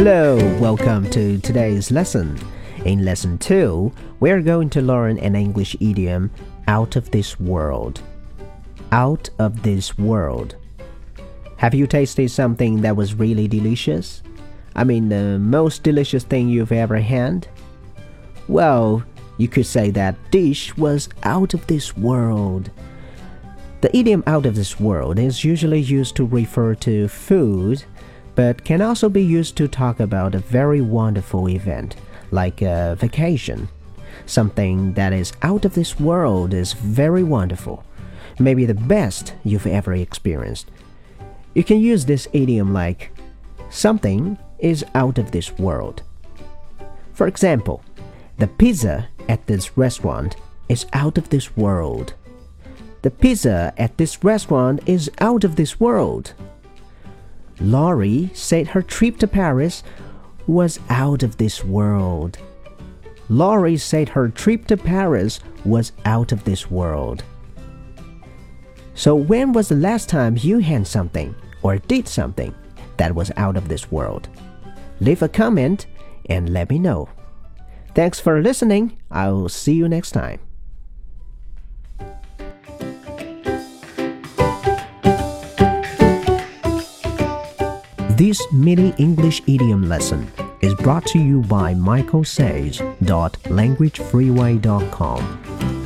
Hello, welcome to today's lesson. In lesson 2, we're going to learn an English idiom, out of this world. Out of this world. Have you tasted something that was really delicious? I mean, the most delicious thing you've ever had? Well, you could say that dish was out of this world. The idiom out of this world is usually used to refer to food, but can also be used to talk about a very wonderful event, like a vacation. Something that is out of this world is very wonderful, maybe the best you've ever experienced. You can use this idiom like, something is out of this world. For example, the pizza at this restaurant is out of this world. The pizza at this restaurant is out of this world. Laurie said her trip to Paris was out of this world. Laurie said her trip to Paris was out of this world. So when was the last time you had something or did something that was out of this world? Leave a comment and let me know. Thanks for listening. I'll see you next time. This mini English idiom lesson is brought to you by michaelsage.languagefreeway.com.